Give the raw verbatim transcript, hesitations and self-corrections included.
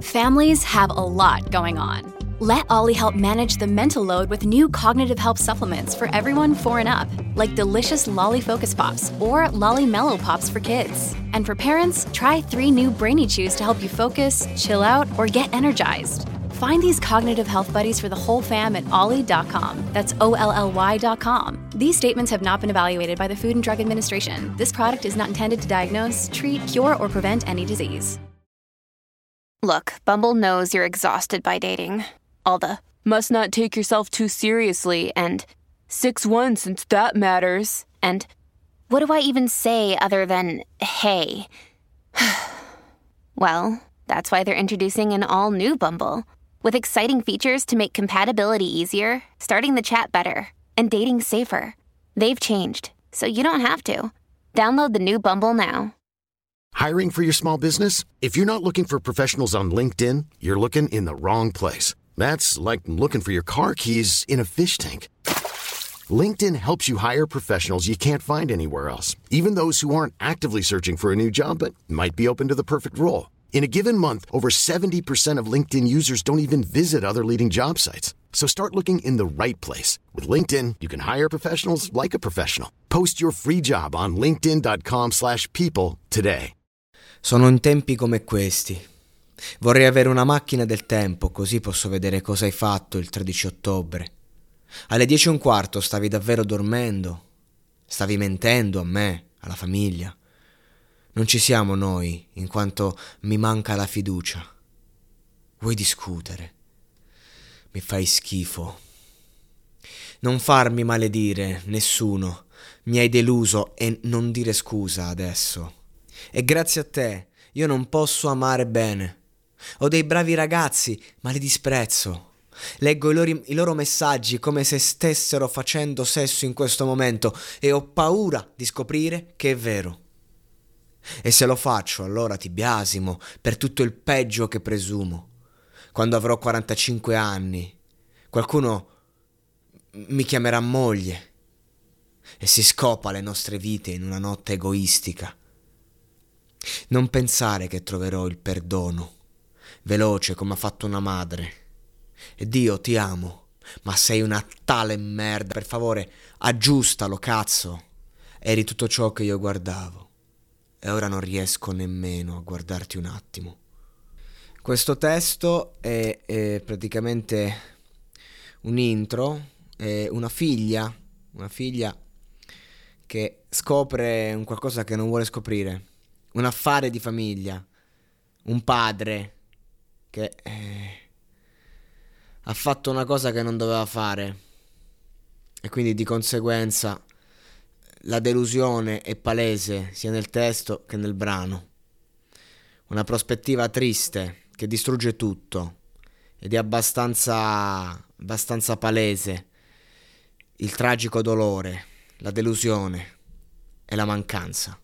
Families have a lot going on. Let Ollie help manage the mental load with new cognitive help supplements for everyone four and up, like delicious Lolly Focus Pops or Lolly Mellow Pops for kids. And for parents, try three new Brainy Chews to help you focus, chill out, or get energized. Find these cognitive health buddies for the whole fam at ollie dot com. That's O L L Y dot com. These statements have not been evaluated by the Food and Drug Administration. This product is not intended to diagnose, treat, cure, or prevent any disease. Look, Bumble knows you're exhausted by dating. All the, must not take yourself too seriously, and six one since that matters, and what do I even say other than, hey? Well, that's why they're introducing an all-new Bumble, with exciting features to make compatibility easier, starting the chat better, and dating safer. They've changed, so you don't have to. Download the new Bumble now. Hiring for your small business? If you're not looking for professionals on LinkedIn, you're looking in the wrong place. That's like looking for your car keys in a fish tank. LinkedIn helps you hire professionals you can't find anywhere else, even those who aren't actively searching for a new job but might be open to the perfect role. In a given month, over seventy percent of LinkedIn users don't even visit other leading job sites. So start looking in the right place. With LinkedIn, you can hire professionals like a professional. Post your free job on linkedin dot com slash people today. Sono in tempi come questi. Vorrei avere una macchina del tempo, così posso vedere cosa hai fatto il tredici ottobre. Alle dieci e un quarto stavi davvero dormendo? Stavi mentendo a me, alla famiglia? Non ci siamo noi, in quanto mi manca la fiducia. Vuoi discutere? Mi fai schifo. Non farmi maledire, nessuno. Mi hai deluso e non dire scusa adesso. E grazie a te io non posso amare bene. Ho dei bravi ragazzi, ma li disprezzo. Leggo i loro, i loro messaggi come se stessero facendo sesso in questo momento e ho paura di scoprire che è vero. E se lo faccio, allora ti biasimo per tutto il peggio che presumo. Quando avrò quarantacinque anni, qualcuno mi chiamerà moglie e si scopa le nostre vite in una notte egoistica. Non pensare che troverò il perdono, veloce come ha fatto una madre. E Dio, ti amo, ma sei una tale merda. Per favore, aggiustalo, cazzo. Eri tutto ciò che io guardavo. E ora non riesco nemmeno a guardarti un attimo. Questo testo è, è praticamente un intro, è una figlia, una figlia che scopre un qualcosa che non vuole scoprire, un affare di famiglia, un padre che eh, ha fatto una cosa che non doveva fare e quindi di conseguenza la delusione è palese sia nel testo che nel brano. Una prospettiva triste che distrugge tutto ed è abbastanza, abbastanza palese il tragico dolore, la delusione e la mancanza.